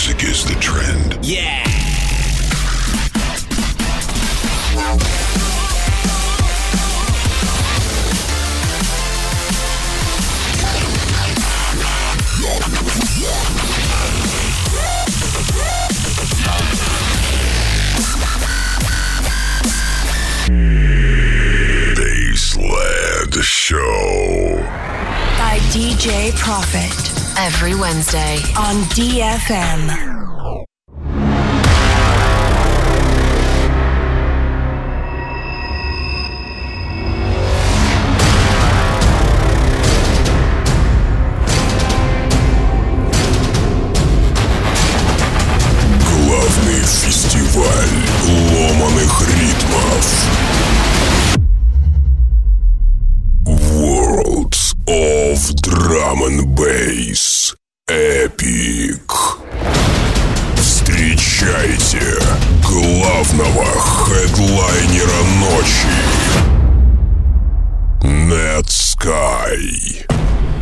music is the trend. Yeah! Baseland Show by DJ Profit every Wednesday on DFM. Главный фестиваль ломаных ритмов. Worlds of Drum and Bass Epic. Встречайте главного хедлайнера ночи Netsky.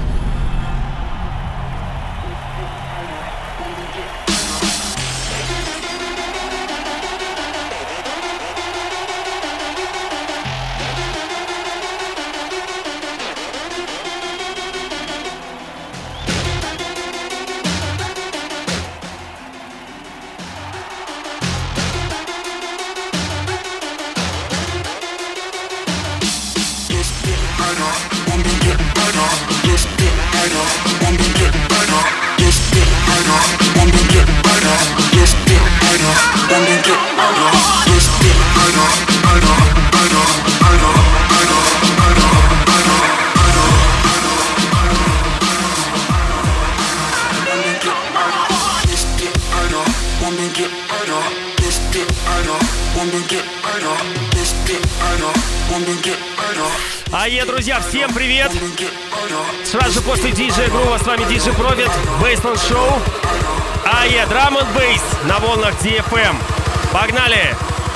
Друзья, всем привет! Сразу же после DJ Groove с вами DJ Profit, Baseland Show. Drum and Bass на волнах DFM. Погнали!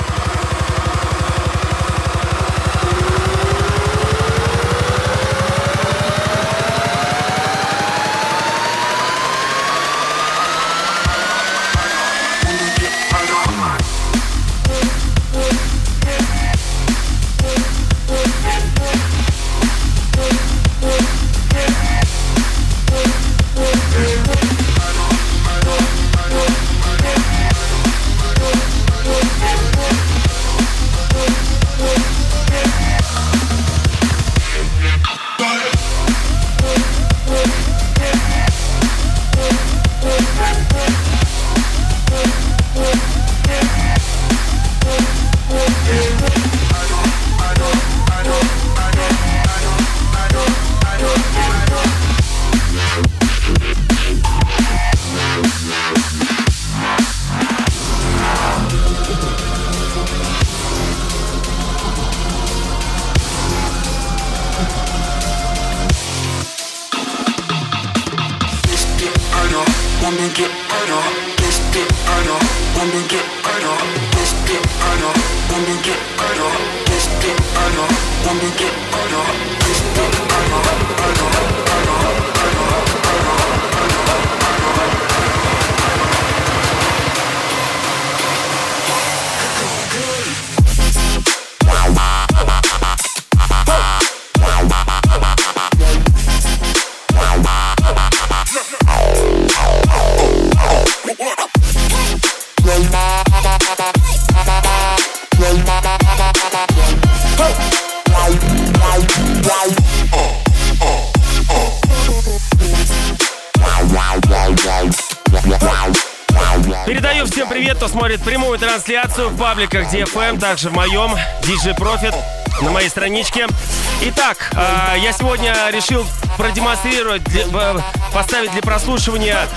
Передаю всем привет, кто смотрит прямую трансляцию в пабликах DFM, также в моем DJ Profit, на моей страничке. Итак, я сегодня решил продемонстрировать, поставить для прослушивания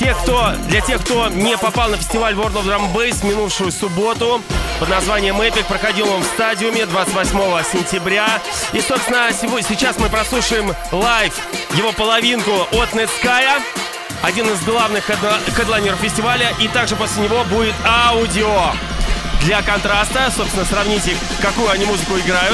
для тех, кто не попал на фестиваль World of Drum and Bass в минувшую субботу под названием Epic. Проходил он в стадиуме 28 сентября. И, собственно, сейчас мы прослушаем лайв его половинку от Netsky, один из главных хедлайнеров фестиваля. И также после него будет аудио. Для контраста, собственно, сравните, какую они музыку играют.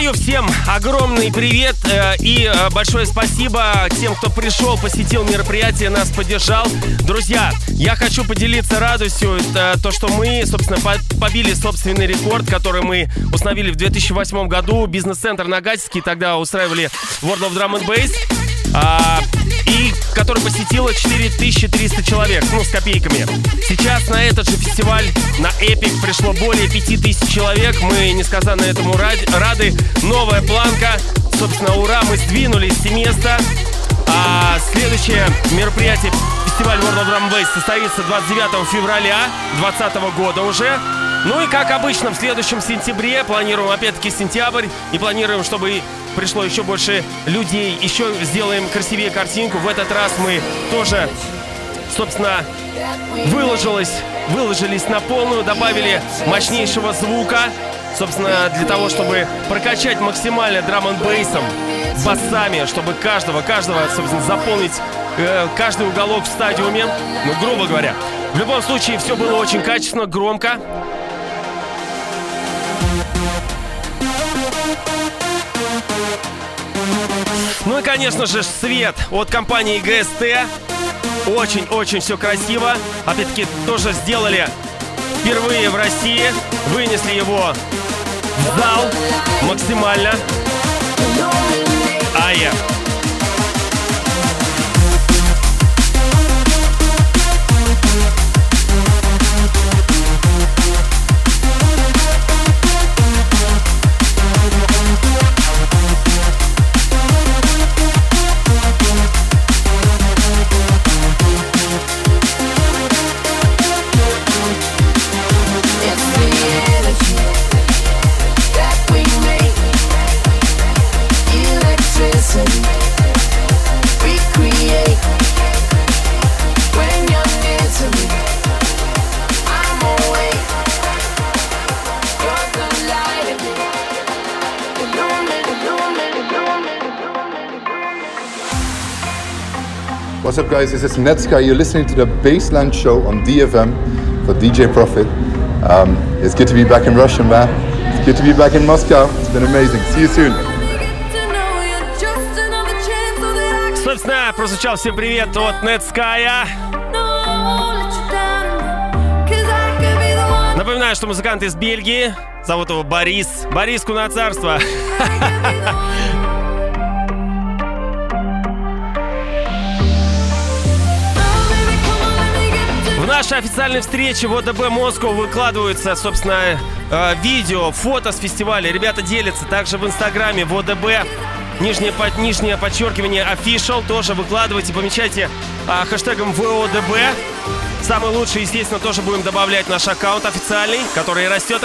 Передаю всем огромный привет и большое спасибо тем, кто пришел, посетил мероприятие, нас поддержал. Друзья, я хочу поделиться радостью, то, что мы, собственно, побили собственный рекорд, который мы установили в 2008 году. Бизнес-центр Нагатинский тогда устраивали World of Drum and Bass. И который посетило 4300 человек, с копейками. Сейчас на этот же фестиваль, на Epic, пришло более 5000 человек. Мы несказанно этому рады. Новая планка. Собственно, ура, мы сдвинулись с места. А следующее мероприятие, фестиваль World of Drum and Bass, состоится 29 февраля 2020 года уже. Ну и как обычно, в следующем сентябре планируем опять-таки сентябрь. И планируем, чтобы пришло еще больше людей. Еще сделаем красивее картинку. В этот раз мы тоже, собственно, выложились на полную. Добавили мощнейшего звука. Собственно, для того, чтобы прокачать максимально драм-н-бейсом, басами, чтобы каждого, собственно, заполнить каждый уголок в стадиуме. Грубо говоря. В любом случае, все было очень качественно, громко. Ну и, конечно же, свет от компании ГСТ. Очень-очень все красиво. Опять-таки, тоже сделали впервые в России. Вынесли его в зал максимально. What's up, guys? This is Netsky. You're listening to the Bassland Show on DFM for DJ Profit. It's good to be back in Russia, man. It's good to be back in Moscow. It's been amazing. See you soon. Собственно, прозвучал всем привет от Нетская. Напоминаю, что музыкант из Бельгии. Зовут его Борис. Борис Куноцарство. В нашей официальной встрече в ОДБ Москва выкладываются, собственно, видео, фото с фестиваля. Ребята делятся также в Инстаграме, в ОДБ. Нижнее подчеркивание official тоже выкладывайте, помечайте хэштегом ВОДБ. Самый лучший, естественно, тоже будем добавлять наш аккаунт официальный, который растет.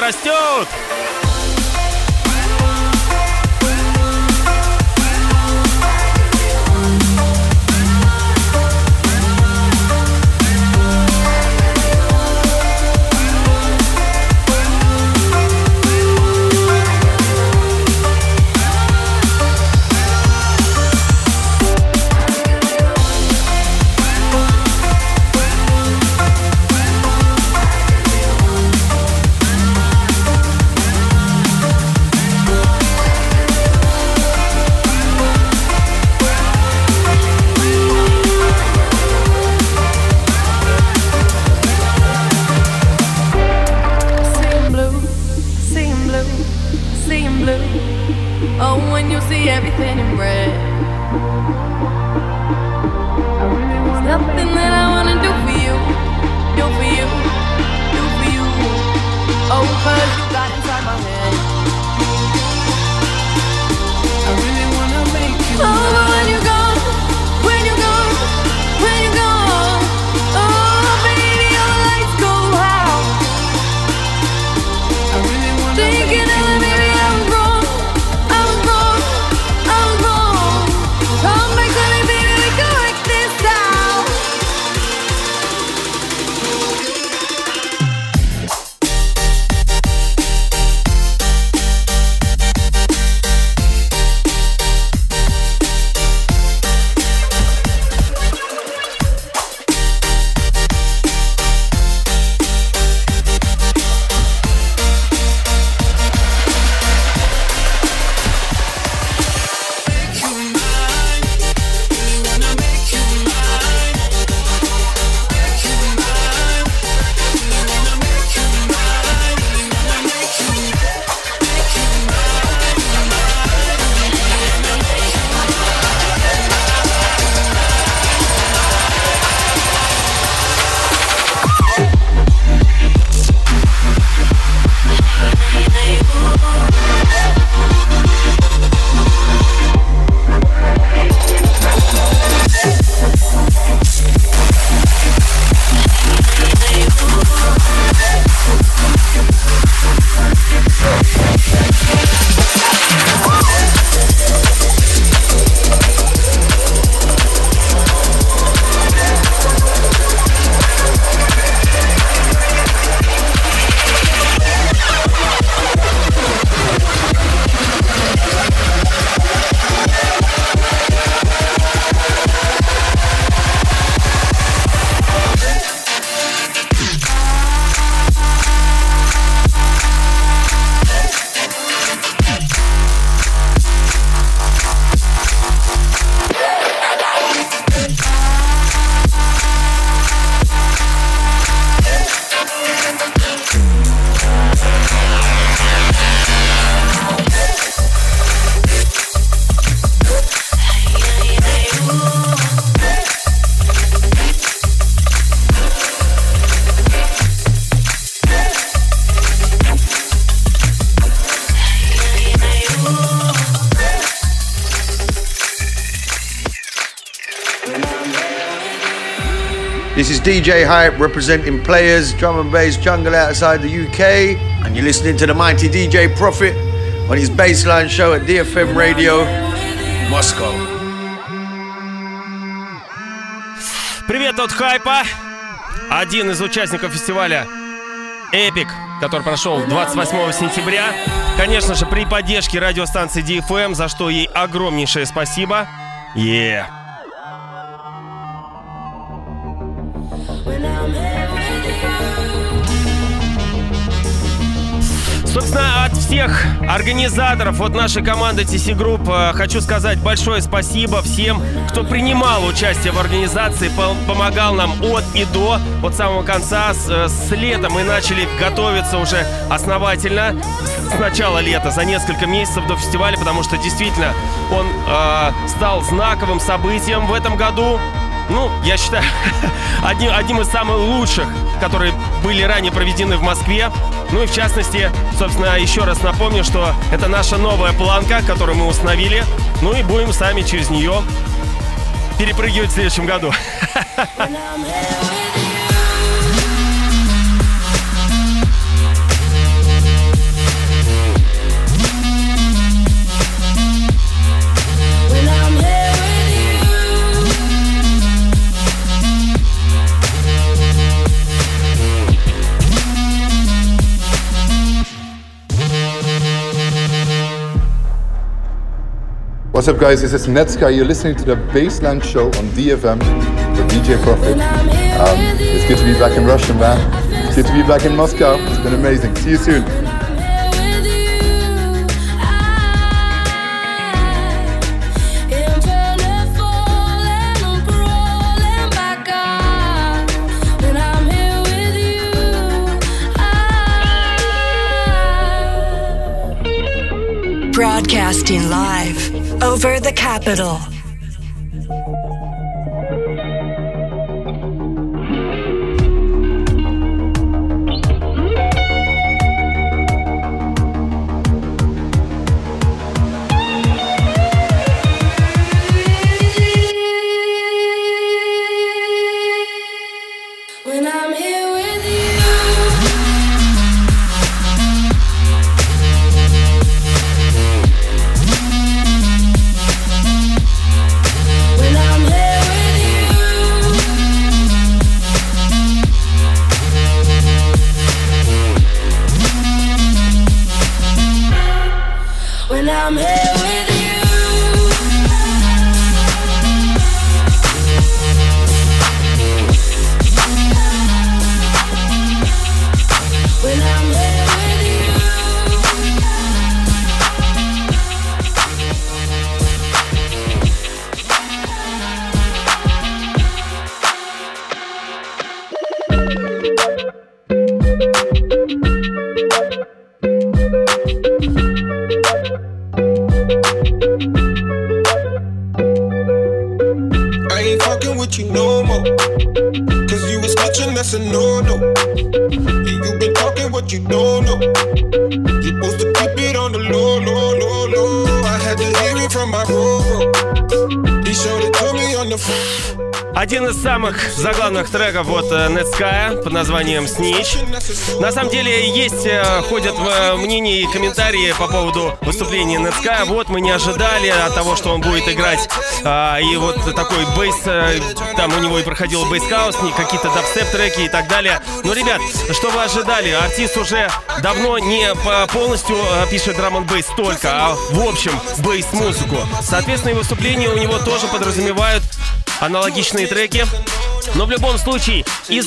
This is DJ Hype representing Players, Drum and Bass Jungle outside the UK. And you're listening to the mighty DJ Prophet on his Bassline show at DFM Radio, Moscow. Привет от Хайпа. Один из участников фестиваля Epic, который прошел 28 сентября. Конечно же, при поддержке радиостанции DFM, за что ей огромнейшее спасибо. Собственно, от всех организаторов, от нашей команды TC Group хочу сказать большое спасибо всем, кто принимал участие в организации, помогал нам от и до, от самого конца. С лета мы начали готовиться уже основательно, с начала лета, за несколько месяцев до фестиваля, потому что действительно он стал знаковым событием в этом году. Ну, я считаю, одним из самых лучших, которые были ранее проведены в Москве. Ну и в частности, собственно, еще раз напомню, что это наша новая планка, которую мы установили. Ну и будем сами через нее перепрыгивать в следующем году. What's up, guys? This is Netsky. You're listening to the Bassline Show on DFM with DJ Prophet. It's good to be back in Russia, man. It's good to be back in Moscow. It's been amazing. See you soon. Broadcasting live over the capital. Один из самых заглавных треков от Netsky под названием Snitch. На самом деле ходят мнения и комментарии по поводу выступления Netsky. Вот мы не ожидали от того, что он будет играть. И вот такой бейс, там у него и проходил бейс-хаус, какие-то дабстеп-треки и так далее. Но, ребят, что вы ожидали? Артист уже давно не полностью пишет драм-н-бейс только, а в общем бейс-музыку. Соответственно, и выступления у него тоже подразумевают аналогичные треки. Но в любом случае, из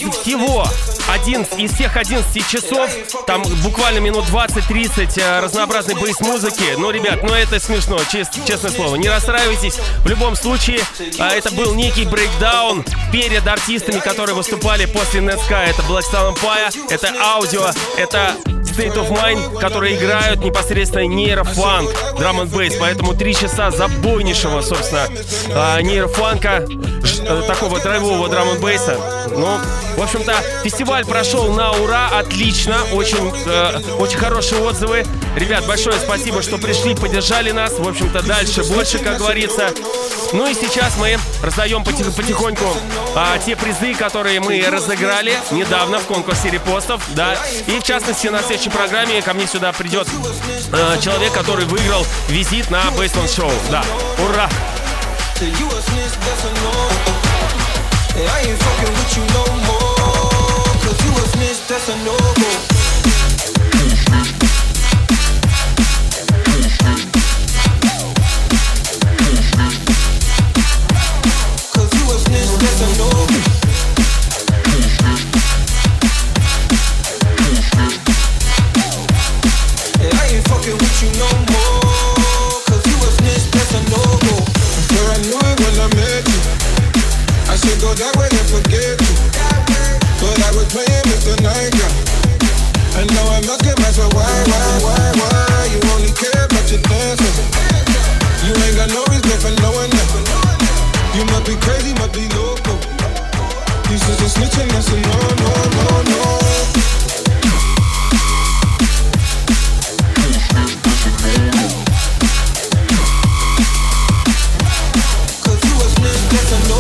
всех 11 часов, там буквально минут 20-30 разнообразной бейс-музыки. Ну, ребят, это смешно, честное слово. Не расстраивайтесь. В любом случае, это был некий брейкдаун перед артистами, которые выступали после Netsky. Это Black Star Empire, это Audio, это State of Mind, которые играют непосредственно нейрофанк, драм-н-бейс. Поэтому 3 часа забойнейшего, собственно, нейрофанка, такого драйвового драм-н-бейса. Ну, в общем-то, фестиваль прошел на ура, отлично, очень хорошие отзывы. Ребят, большое спасибо, что пришли, поддержали нас. В общем-то, дальше больше, как говорится. Ну и сейчас мы раздаем потихоньку те призы, которые мы разыграли недавно в конкурсе репостов, да. И в частности, на следующей программе ко мне сюда придет человек, который выиграл визит на Baseline Show. Да, ура! That way and forget you. But I was playing Mr. Night Guy. And now I must get mad, so why? You only care about your dancing. You ain't got no reason for knowing that. You must be crazy, must be local. You just a snitching, that's a no. Cause you a snitch, that's a no.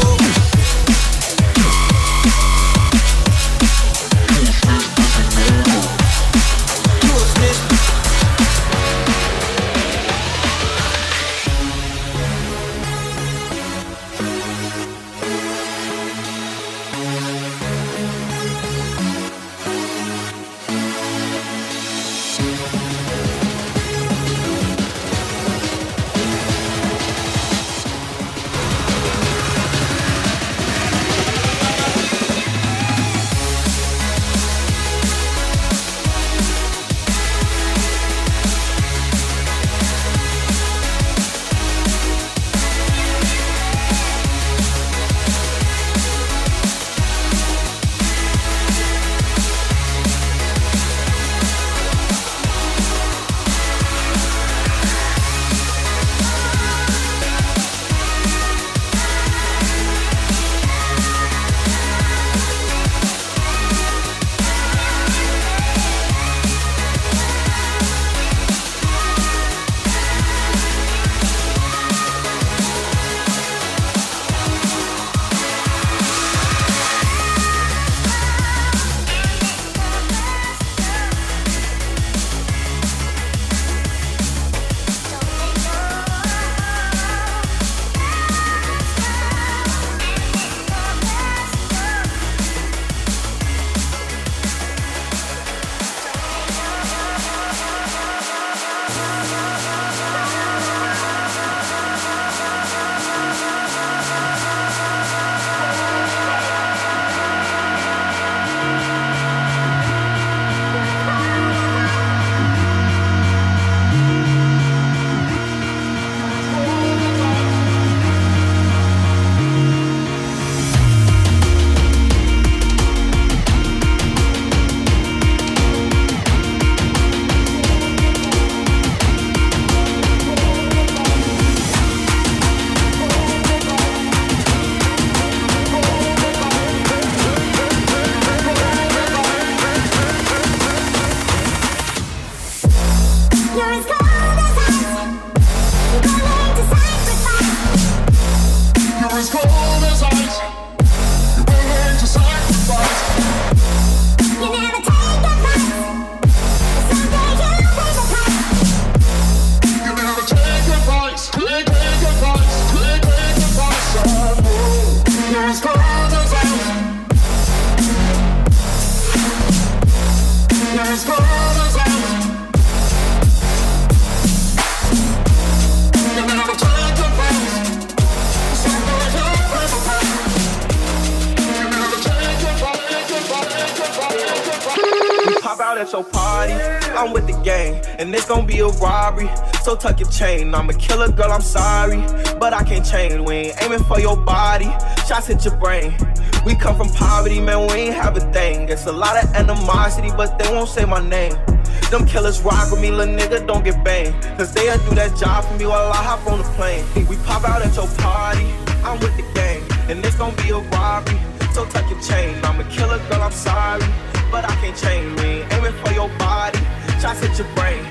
At your party, I'm with the gang, and it's gonna be a robbery. So tuck your chain, I'm a killer girl, I'm sorry, but I can't change. We ain't aiming for your body, shots hit your brain. We come from poverty, man, we ain't have a thing. It's a lot of animosity, but they won't say my name. Them killers rock with me, little nigga, don't get banged. Cause they'll do that job for me while I hop on the plane. We pop out at your party, I'm with the gang, and it's gonna be a robbery. So tuck your chain, I'm a killer girl, I'm sorry, but I can't change. We ain't aiming for your body, shots hit your brain.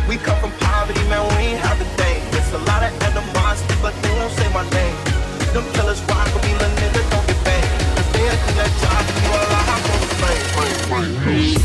We come from poverty, man, we ain't have a thing. It's a lot of animosity, but they won't say my name. Them killers rock with me, little nigga, don't get banged. Cause they do that job, you all I hop on the plane.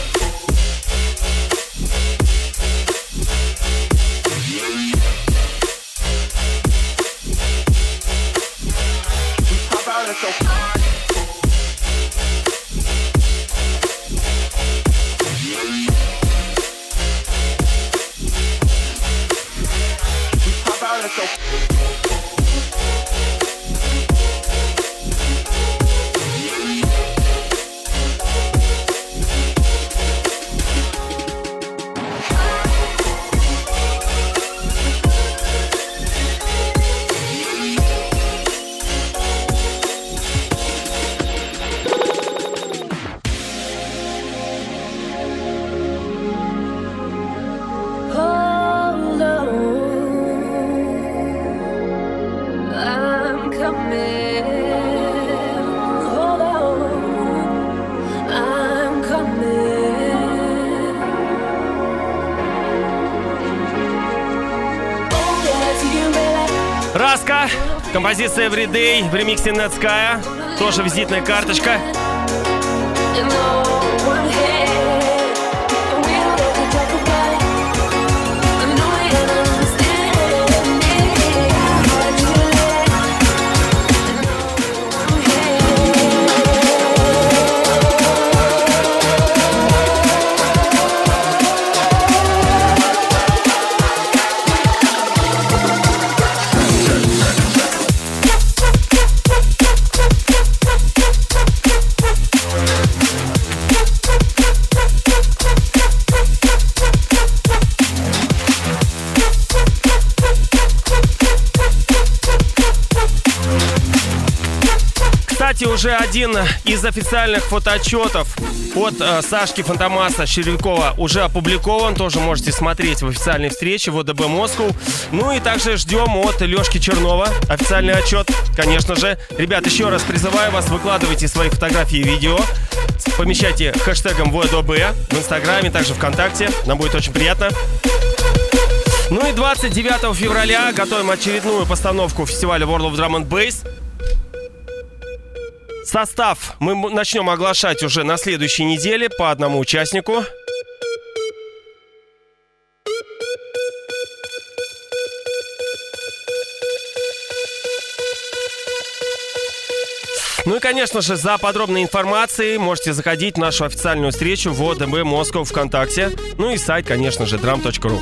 Раска, композиция Everyday в ремиксе Netsky, тоже визитная карточка. Уже один из официальных фотоотчетов от Сашки Фантомаса Червякова уже опубликован. Тоже можете смотреть в официальной встрече в ОДБ Москву. Ну и также ждем от Лешки Чернова официальный отчет, конечно же. Ребят, еще раз призываю вас, выкладывайте свои фотографии и видео. Помещайте хэштегом ВОДБ в Инстаграме, также ВКонтакте. Нам будет очень приятно. Ну и 29 февраля готовим очередную постановку фестиваля World of Drum and Bass. Состав мы начнем оглашать уже на следующей неделе по одному участнику. Ну и, конечно же, за подробной информацией можете заходить в нашу официальную встречу в ОДБ Москва ВКонтакте. Ну и сайт, конечно же, drum.ru.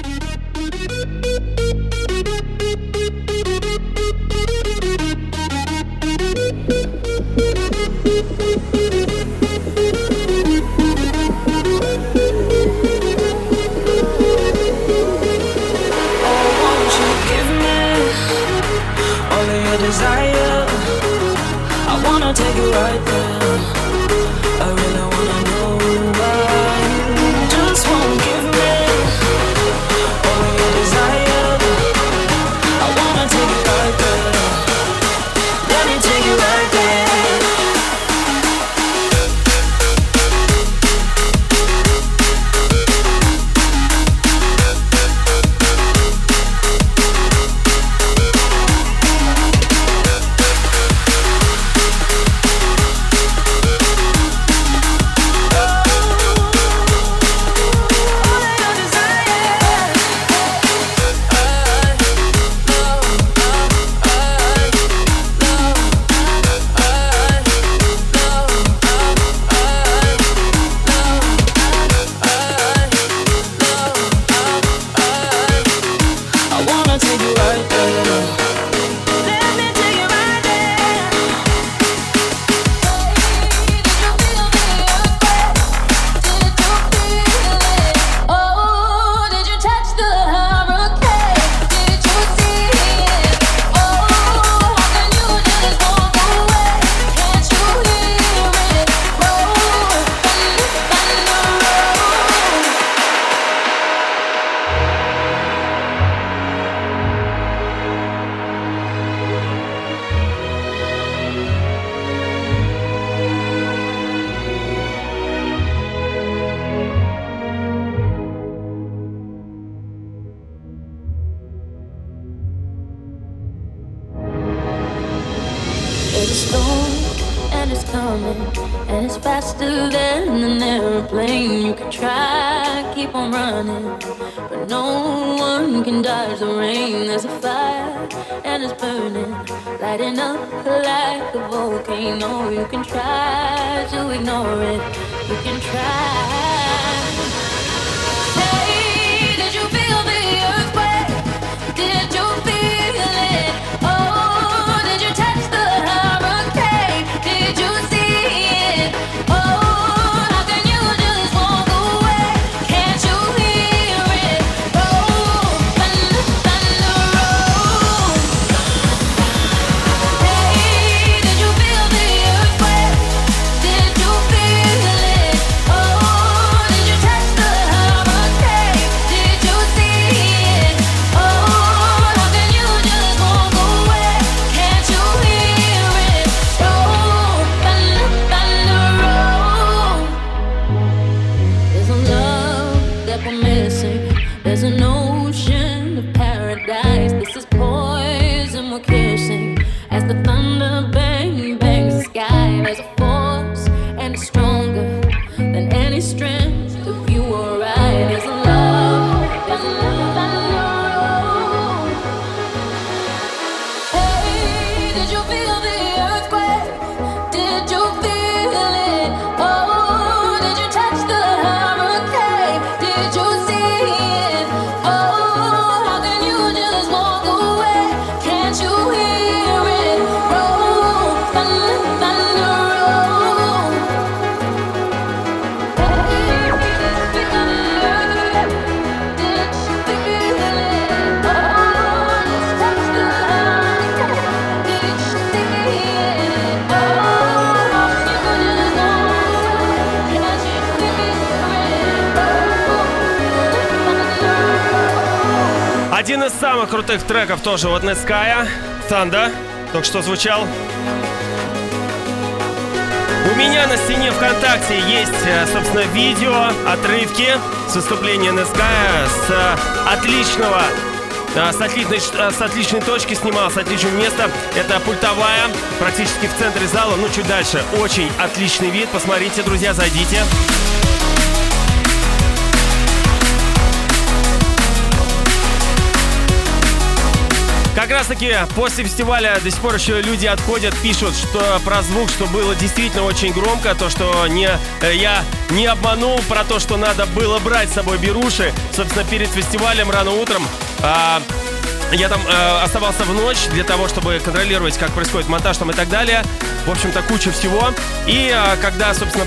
Take you right there. I really wanna know why you just won't give me all of your desire. I wanna take you right there. Let me take you right there. and it's coming, and it's faster than an airplane. You can try, keep on running, but no one can dodge the rain. There's a fire, and it's burning, lighting up like a volcano. You can try to ignore it, you can try. Hey, did you feel the earthquake? Did you feel it? Oh, did you touch the hurricane? Did you see it? Oh, how can you just walk away? Can't you hear it? Roll, thunder, thunder, roll. Hey, did you feel the earthquake? Did you feel it? Oh, did you touch the hurricane? Did you see it? Oh, how can you just walk away? Can't you hear it? Roll, thunder, thunder, roll. There's a love that we're missing. There's an ocean of paradise. This is poison we're kissing. As the thunder bang bangs the sky, there's a force and it's stronger than any strength. If you were right, there's a love, there's a love, thunder. Hey, did you feel the earthquake? Did you feel it? Oh, did you touch the hurricane? Did you see it? Oh, how can you just walk away? Can't you hear it? Roll, thunder, thunder, roll. Hey, did you feel the earthquake? Did you feel it? Oh, did you touch the hurricane? Did you see it? Oh, how can you just walk away? Can't you hear it? Roll, thunder. Один из самых крутых треков тоже от Netsky, Thunder, только что звучал. У меня на стене ВКонтакте есть, собственно, видео, отрывки с выступления Netsky с отличной точки снимал, с отличного места. Это пультовая, практически в центре зала, ну чуть дальше. Очень отличный вид, посмотрите, друзья, зайдите. Как раз таки после фестиваля до сих пор еще люди отходят, пишут, что про звук, что было действительно очень громко, то, что я не обманул, про то, что надо было брать с собой беруши. Собственно, перед фестивалем рано утром я там оставался в ночь для того, чтобы контролировать, как происходит монтаж там и так далее. В общем-то, куча всего. И когда, собственно,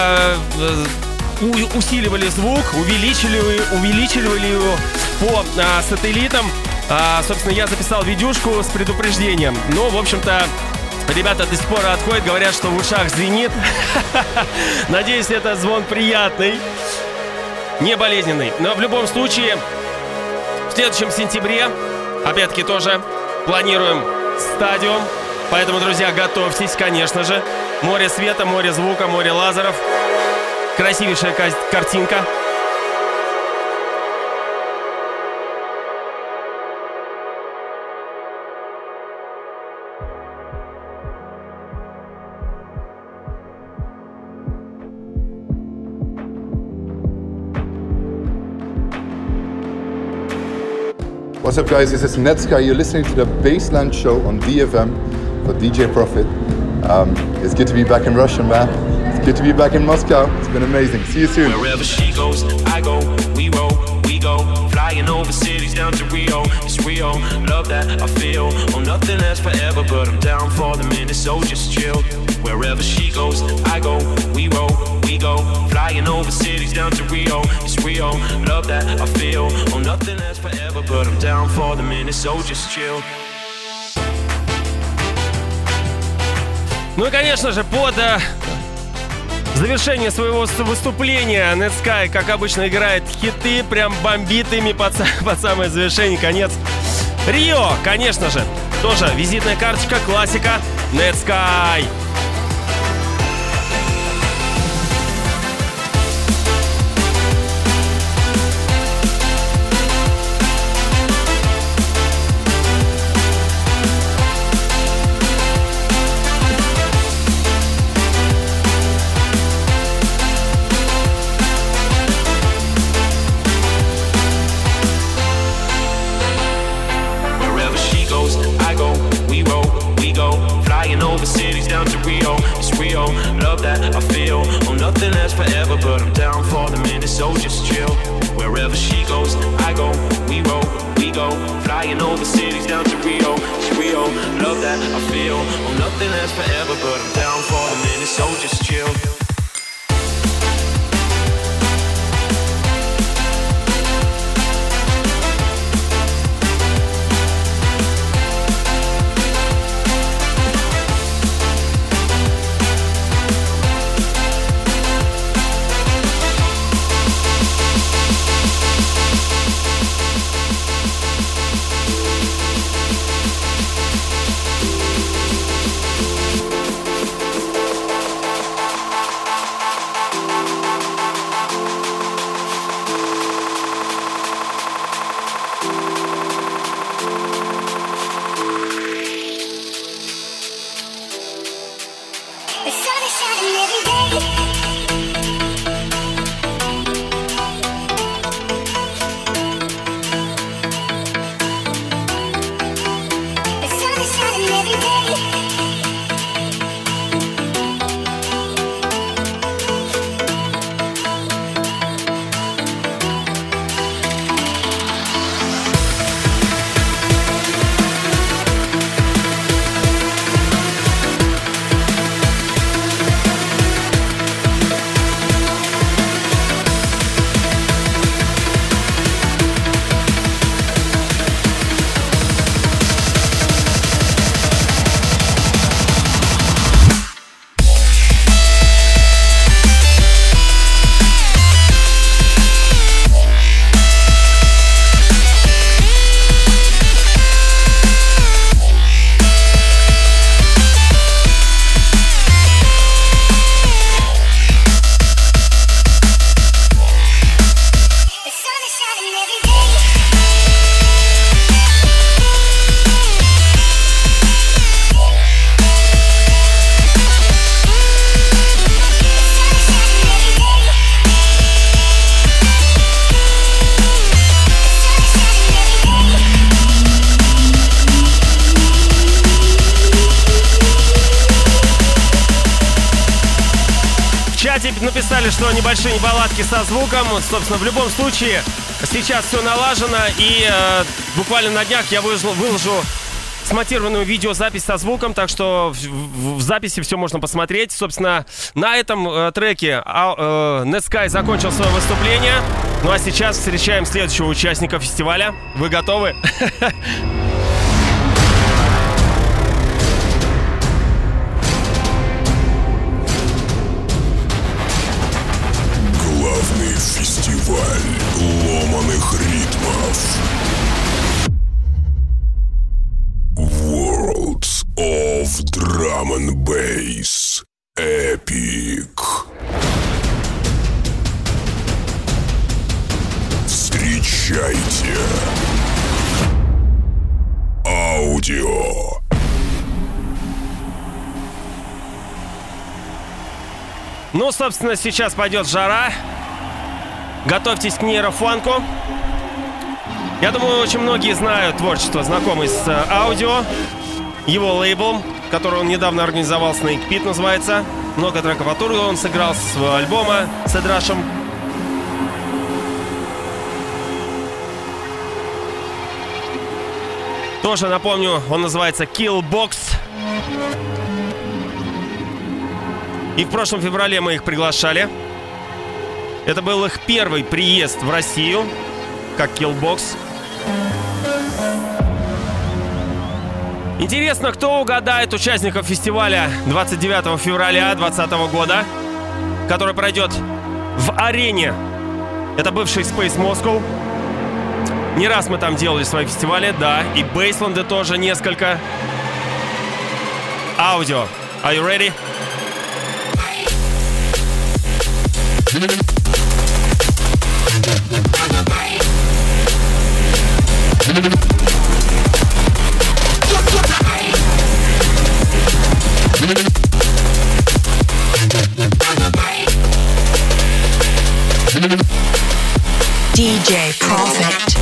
усиливали звук, увеличивали его по сателлитам, собственно, я записал видюшку с предупреждением. Но, в общем-то, ребята до сих пор отходят, говорят, что в ушах звенит. Надеюсь, это звон приятный, не болезненный. Но в любом случае, в следующем сентябре, опять-таки, тоже планируем стадиум. Поэтому, друзья, готовьтесь, конечно же. Море света, море звука, море лазеров. Красивейшая картинка. What's up, guys? This is Netsky. You're listening to the Baseline Show on DFM for DJ Profit. It's good to be back in Russia, man. It's good to be back in Moscow. It's been amazing. See you soon. Wherever she goes, I go. We roll, we go. Flying over cities down to Rio. It's Rio. Love that I feel. Oh, nothing lasts forever, but I'm down for the minute, so just chill. Wherever she goes, I go. We roll, we go. Flying over cities down to Rio. It's Rio. Love that I feel. Oh, nothing lasts forever, but I'm down for the minute, so just chill. Ну и, конечно же, под завершение своего выступления Netsky, как обычно, играет хиты, прям бомбит ими под самое завершение, конец. Рио, конечно же, тоже визитная карточка, классика, Netsky. so just chill. Wherever she goes, I go, we roll, we go. Flying over cities down to Rio, it's Rio. Love that I feel, oh nothing lasts forever, but I'm down for the minute, so just chill. Написали, что небольшие неполадки со звуком. Собственно, в любом случае, сейчас все налажено. И буквально на днях я выложу смонтированную видеозапись со звуком. Так что в записи все можно посмотреть. Собственно, на этом треке Netsky закончил свое выступление. Ну а сейчас встречаем следующего участника фестиваля. Вы готовы? Фестиваль ломаных ритмов. Worlds of Drum and Bass Epic. Встречайте Аудио. Ну, собственно, сейчас пойдет жара. Готовьтесь к нейрофанку. Я думаю, очень многие знают творчество, знакомый с Аудио. Его лейбл, который он недавно организовал, Snake Pit называется. Много треков оттуда он сыграл с своего альбома с Эдрашем. Тоже напомню, он называется Killbox. И в прошлом феврале мы их приглашали. Это был их первый приезд в Россию, как Killbox. Интересно, кто угадает участников фестиваля 29 февраля 2020 года, который пройдет в арене. Это бывший Space Moscow. Не раз мы там делали свои фестивали, да, и Бейсленды тоже несколько. Аудио. Are you ready? DJ Profit.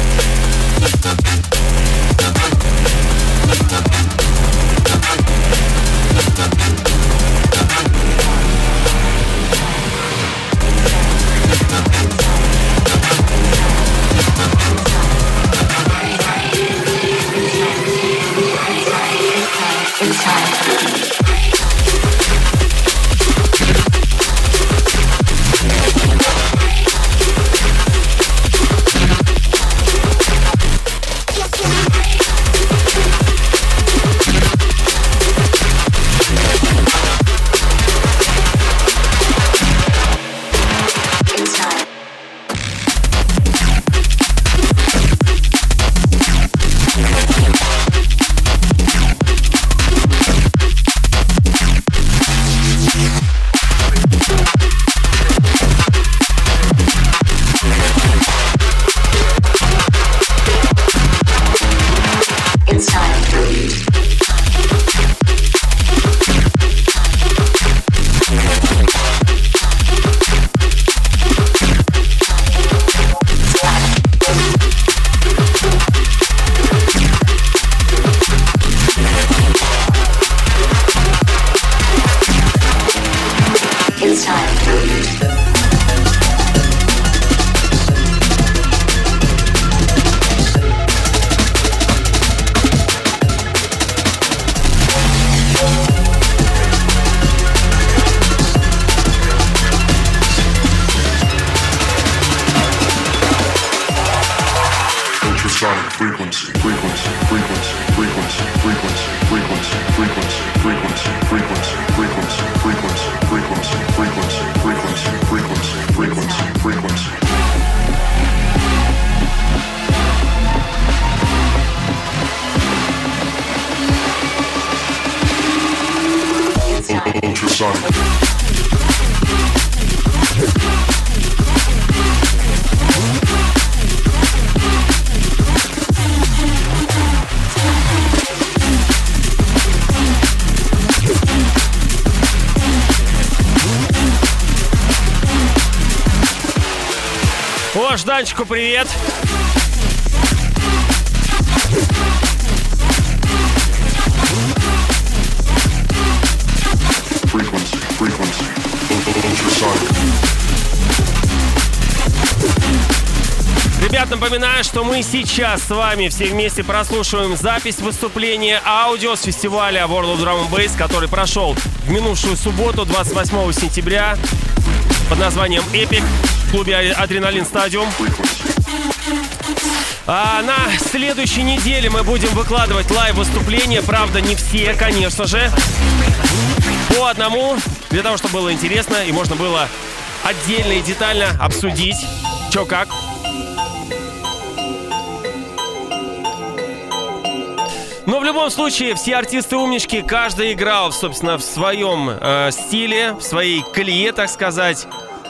О, Жданчику привет! Ребят, напоминаю, что мы сейчас с вами все вместе прослушиваем запись выступления аудио с фестиваля World of Drum & Bass, который прошел в минувшую субботу, 28 сентября, под названием Epic в клубе Адреналин Стадиум. А на следующей неделе мы будем выкладывать лайв-выступления, правда, не все, конечно же, по одному, для того, чтобы было интересно и можно было отдельно и детально обсудить, чё как. Но в любом случае, все артисты-умнички, каждый играл, собственно, в своем стиле, в своей колее, так сказать.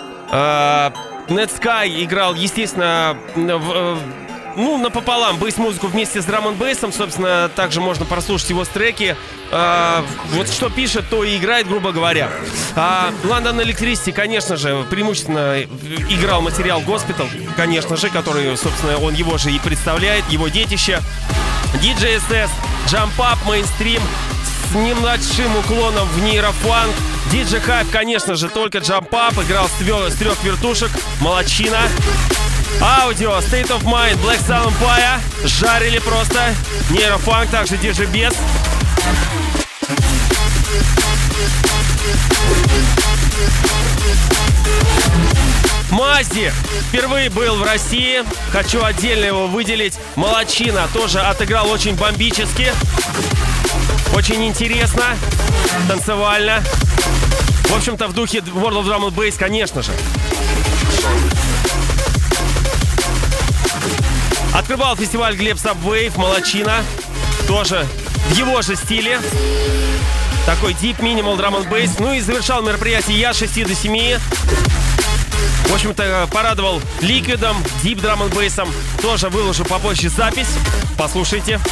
Netsky играл, естественно, напополам бейс-музыку вместе с драм-н-бейсом. Собственно, также можно прослушать его треки. Вот что пишет, то и играет, грубо говоря. London Electricity, конечно же, преимущественно играл материал Госпитал, конечно же, который, собственно, он его же и представляет, его детище. DJ SS, Jump Up, Mainstream с небольшим уклоном в нейрофанк. DJ Hype, конечно же, только Jump Up, играл с трех вертушек, молодчина. Аудио, State of Mind, Black Sun Empire, жарили просто. Нейрофанк, также DJ Bes. Мазди впервые был в России. Хочу отдельно его выделить. Молодчина, тоже отыграл очень бомбически. Очень интересно. Танцевально. В общем-то, в духе World of Drum & Bass, конечно же. Открывал фестиваль Глеб Subwave. Молодчина. Тоже в его же стиле. Такой Deep Minimal Drum & Bass. Ну и завершал мероприятие я с 6 до 7. В общем-то, порадовал Ликвидом, Deep Drum & Bass'ом. Тоже выложу попозже запись. Послушайте.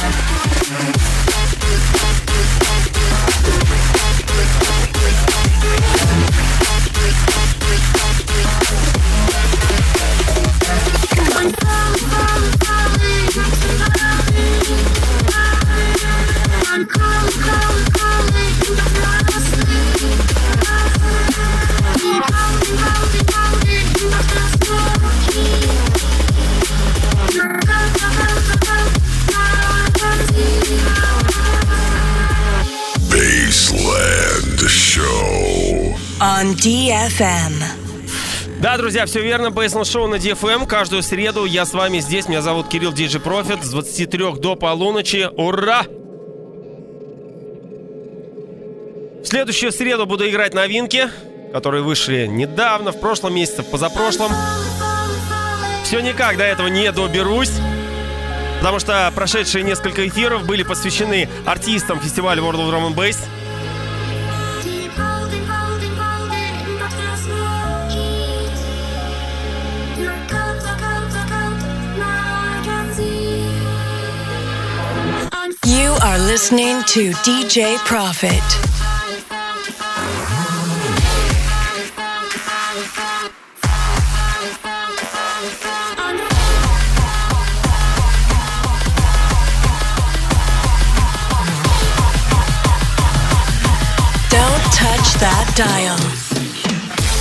Baseland Show on DFM. Да, друзья, все верно. Baseland Show на DFM. Каждую среду я с вами здесь. Меня зовут Кирилл DJ Prophet. С 23 до полуночи. Ура! В следующую среду буду играть новинки, которые вышли недавно, в прошлом месяце, в позапрошлом. Все никак до этого не доберусь, потому что прошедшие несколько эфиров были посвящены артистам фестиваля World of Drum & Bass. You are listening to DJ Prophet. Don't touch that dial.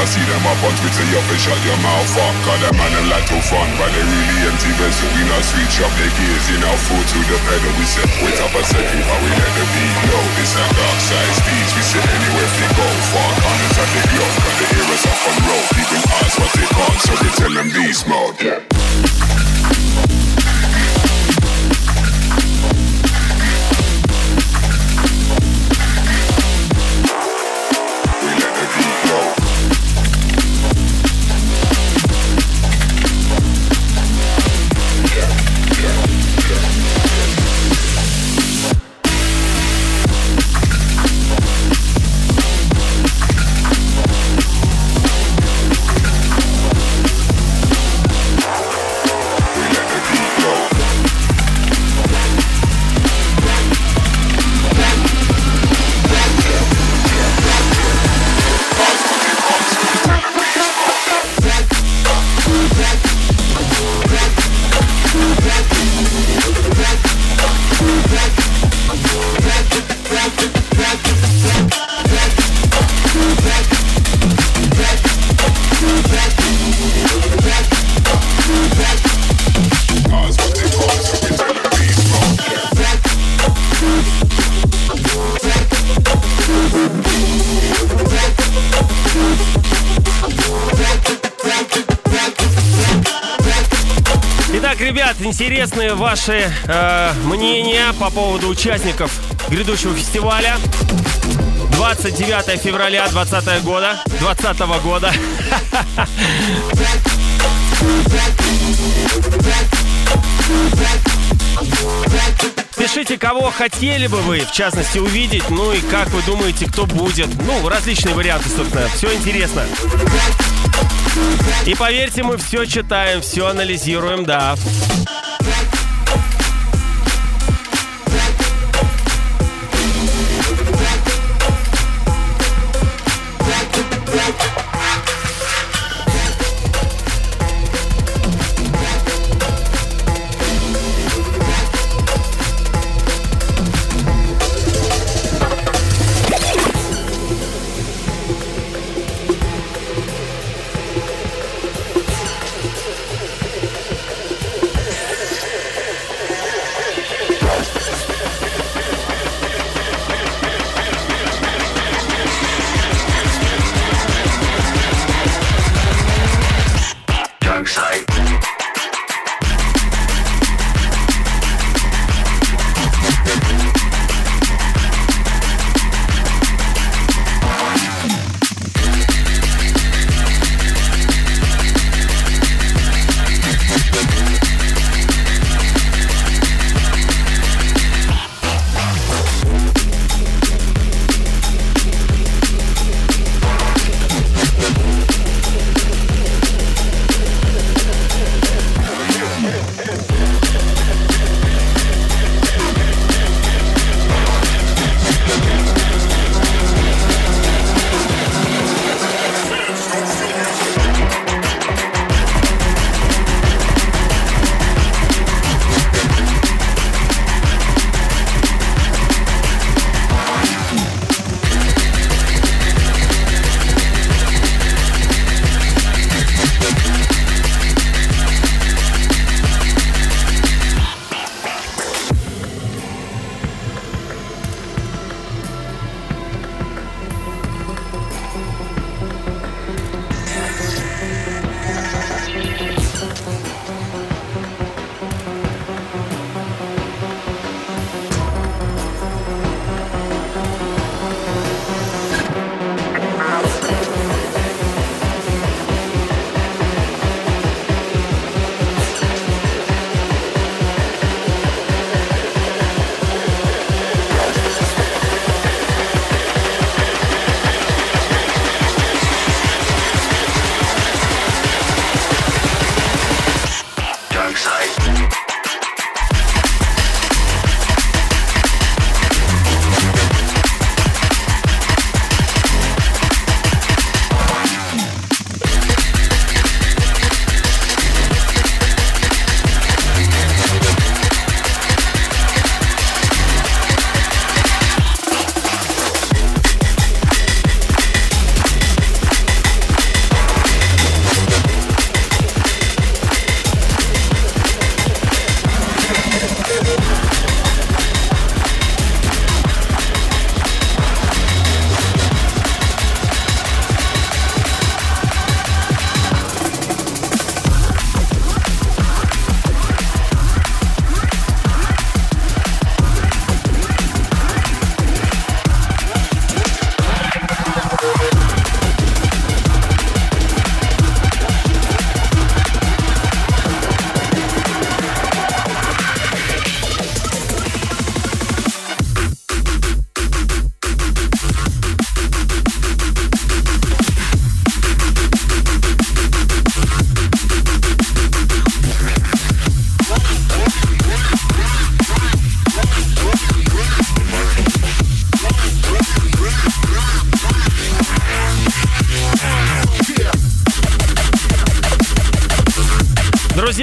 see them up on Twitter, you fi shut your mouth up. Cause them man them like to fun, but they really empty vessel. We not switch up the gears, in our foot to the pedal. We set wait up a second, but we let the beat go. This a dark side speech, we sit anywhere we go. Far corners of the globe, cause the heroes up on road. People ask what they want, so we tell them beast mode. Yeah. Ребят, интересны ваши мнения по поводу участников грядущего фестиваля. 29 февраля 2020 года. Пишите, кого хотели бы вы, в частности, увидеть. Ну и как вы думаете, кто будет. Ну, различные варианты, собственно. Все интересно. И поверьте, мы все читаем, все анализируем, да.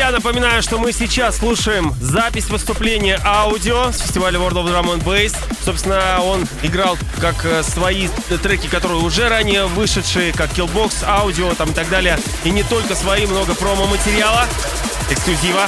Друзья, напоминаю, что мы сейчас слушаем запись выступления аудио с фестиваля World of Drum and Bass. Собственно, он играл как свои треки, которые уже ранее вышедшие, как Killbox, аудио там и так далее. И не только свои, много промо-материала, эксклюзива.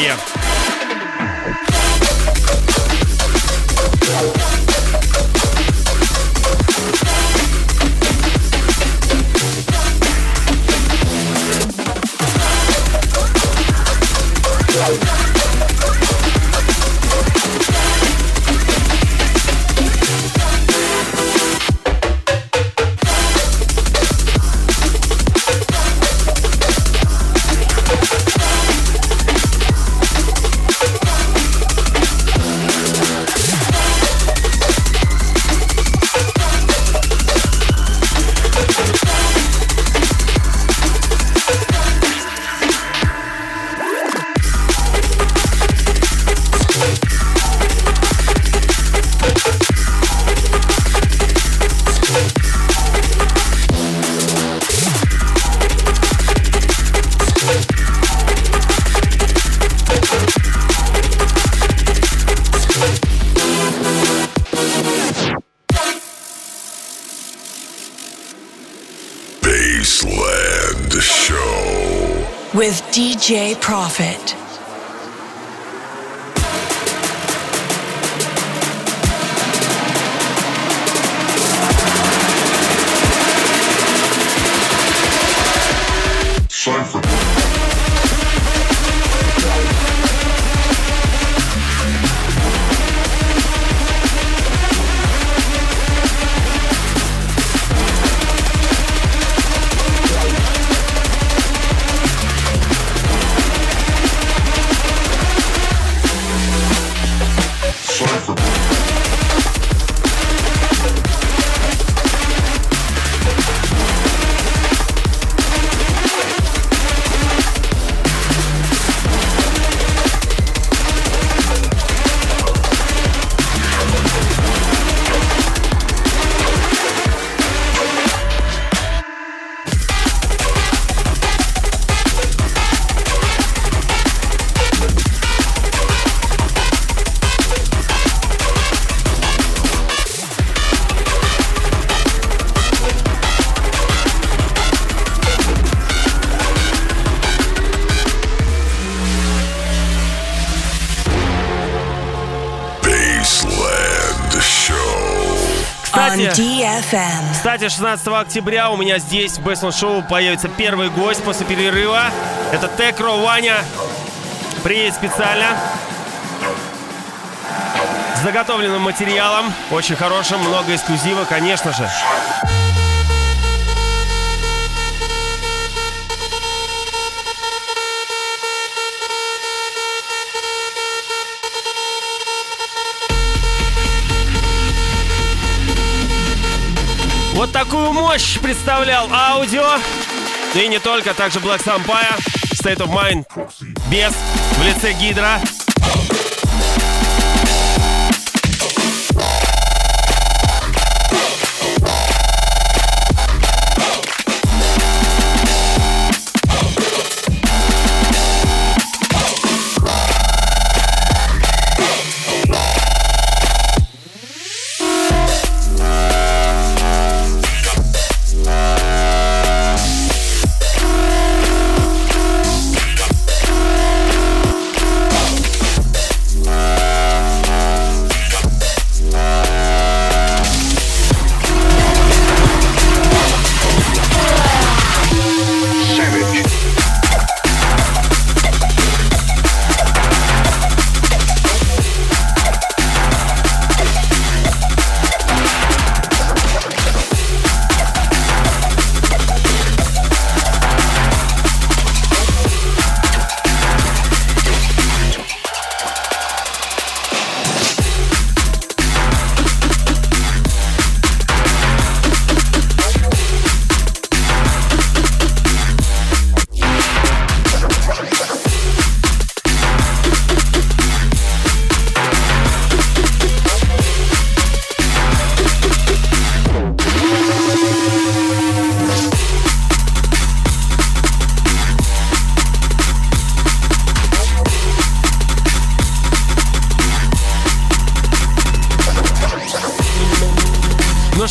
Bassland Show with DJ Profit. Кстати, 16 октября у меня здесь в Bassland Show появится первый гость после перерыва. Это Текро Ваня. Приедет специально с заготовленным материалом, очень хорошим, много эксклюзива, конечно же. Вот такую мощь представлял аудио. И не только, также Black Sampire, State of Mind, Бес в лице Гидра.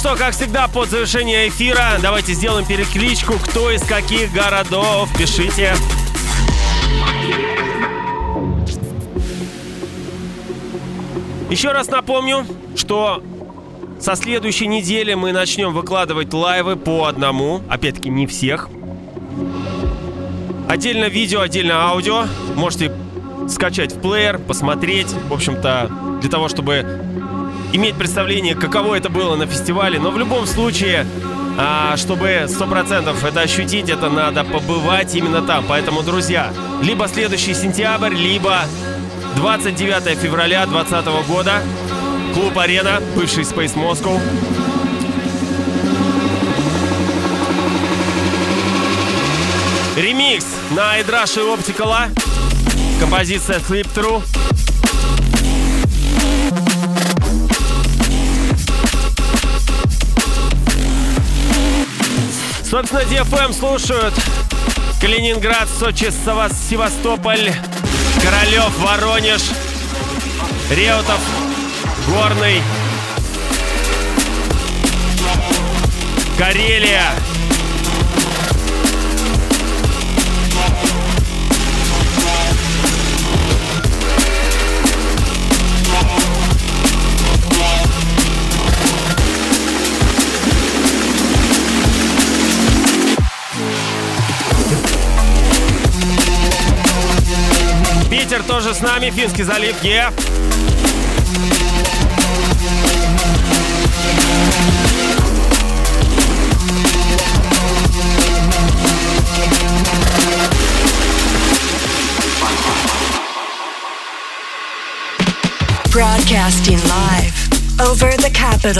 что, как всегда, под завершение эфира давайте сделаем перекличку. Кто из каких городов? Пишите. Еще раз напомню, что со следующей недели мы начнем выкладывать лайвы по одному. Опять-таки, не всех. Отдельно видео, отдельно аудио. Можете скачать в плеер, посмотреть. В общем-то, для того, чтобы иметь представление, каково это было на фестивале. Но в любом случае, чтобы 100% это ощутить, это надо побывать именно там. Поэтому, друзья, либо следующий сентябрь, либо 29 февраля 2020 года. Клуб «Арена», бывший Space Moscow. Ремикс на Эдраши Оптикала. Композиция Sleep Through. Собственно, DFM слушают Калининград, Сочи, Севастополь, Королев, Воронеж, Реутов, Горный, Карелия. Питер тоже с нами, Финский залив, Broadcasting live over the capital.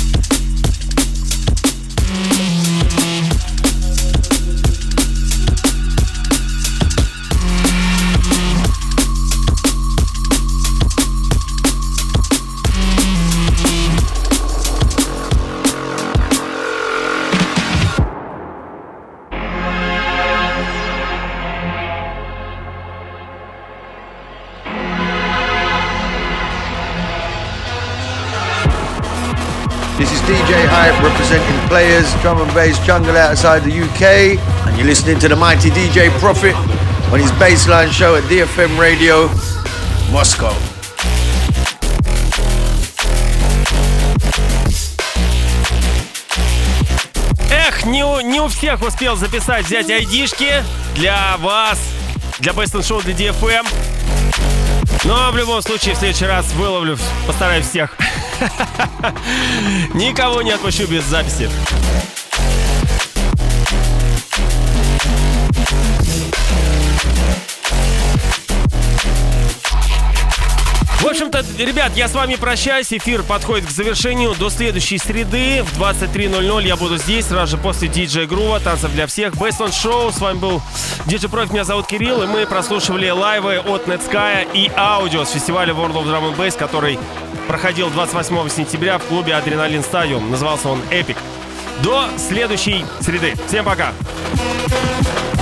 This is DJ Hype representing Players, Drum and Bass Jungle outside the UK, and you're listening to the mighty DJ Prophet on his Bassline show at DFM Radio, Moscow. Эх, не у всех успел записать, взять айдишки для вас, для Bassline Show, для DFM. Но в любом случае в следующий раз выловлю, постараюсь всех. Никого не отпущу без записи. В общем-то, ребят, я с вами прощаюсь. Эфир подходит к завершению. До следующей среды в 23:00 я буду здесь, сразу же после DJ Groove, танцев для всех. Bassline Show. С вами был DJ Profit, меня зовут Кирилл, и мы прослушивали лайвы от Netsky и аудио с фестиваля World of Drum and Bass, который проходил 28 сентября в клубе Adrenaline Stadium. Назывался он Epic. До следующей среды. Всем пока!